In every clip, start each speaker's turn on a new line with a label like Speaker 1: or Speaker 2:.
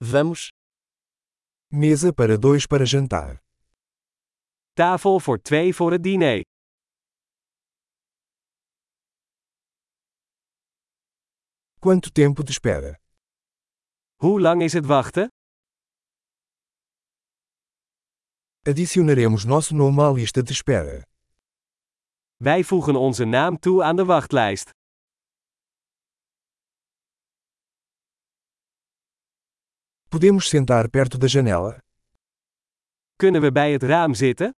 Speaker 1: Vamos.
Speaker 2: Mesa para dois para jantar.
Speaker 3: Tafel voor 2 voor het diner.
Speaker 2: Quanto tempo de espera?
Speaker 3: Hoe lang is het wachten?
Speaker 2: Adicionaremos nosso nome à lista de espera.
Speaker 3: Wij voegen onze naam toe aan de wachtlijst.
Speaker 2: Podemos sentar perto da janela?
Speaker 3: Kunnen we bij het raam zitten?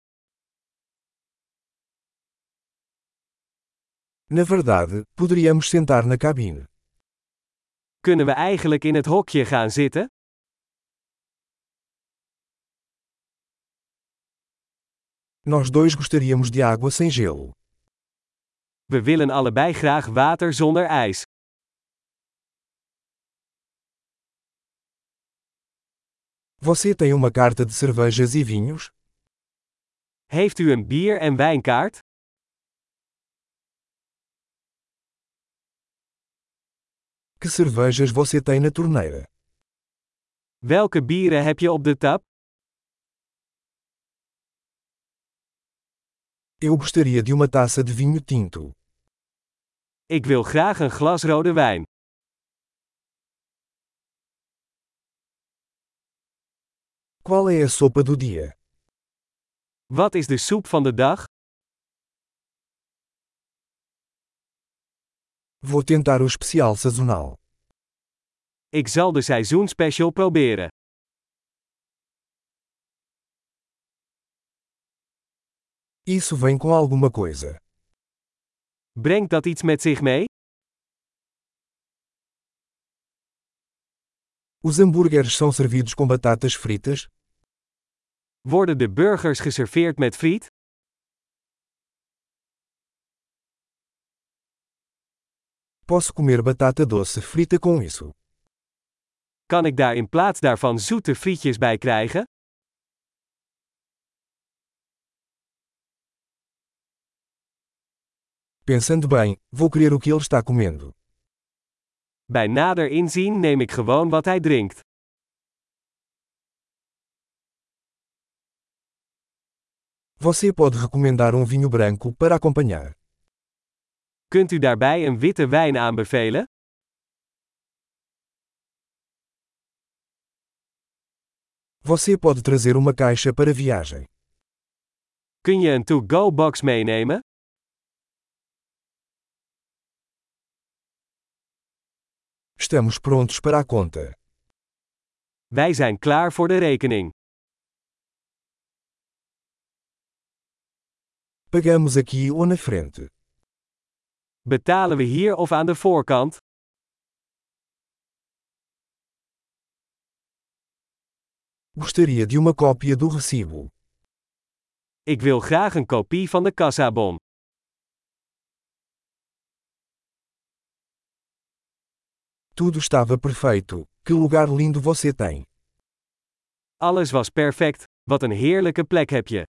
Speaker 2: Na verdade, poderíamos sentar na cabine.
Speaker 3: Kunnen we eigenlijk in het hokje gaan zitten?
Speaker 2: Nós dois gostaríamos de água sem gelo.
Speaker 3: We willen allebei graag water zonder ijs.
Speaker 2: Você tem uma carta de cervejas e vinhos?
Speaker 3: Heeft u een bier- en wijnkaart?
Speaker 2: Que cervejas você tem na torneira?
Speaker 3: Welke bieren heb je op de tap?
Speaker 2: Eu gostaria de uma taça de vinho tinto.
Speaker 3: Ik wil graag een glas rode wijn.
Speaker 2: Qual é a sopa do dia?
Speaker 3: Wat is de soep van de dag?
Speaker 2: Vou tentar o especial sazonal.
Speaker 3: Ik zal de seizoenspecial proberen.
Speaker 2: Isso vem com alguma coisa.
Speaker 3: Brengt dat iets met zich mee?
Speaker 2: Os hambúrgueres são servidos com batatas fritas?
Speaker 3: Worden de burgers geserveerd met friet?
Speaker 2: Posso comer batata doce frita com isso?
Speaker 3: Kan ik daar in plaats daarvan zoete frietjes bij krijgen?
Speaker 2: Pensando bem, vou querer o que ele está comendo.
Speaker 3: Bij nader inzien neem ik gewoon wat hij drinkt.
Speaker 2: Você pode recomendar vinho branco para acompanhar.
Speaker 3: Kunt u daarbij een witte wijn aanbevelen?
Speaker 2: Você pode trazer uma caixa para viagem.
Speaker 3: Kun je een to-go-box meenemen?
Speaker 2: Estamos prontos para a conta.
Speaker 3: Wij zijn klaar voor de rekening.
Speaker 2: Pagamos aqui ou na frente.
Speaker 3: Betalen we hier of aan de voorkant?
Speaker 2: Gostaria de uma cópia do recibo.
Speaker 3: Ik wil graag een kopie van de kassabon.
Speaker 2: Tudo estava perfeito. Que lugar lindo você tem.
Speaker 3: Alles was perfect. Wat een heerlijke plek heb je.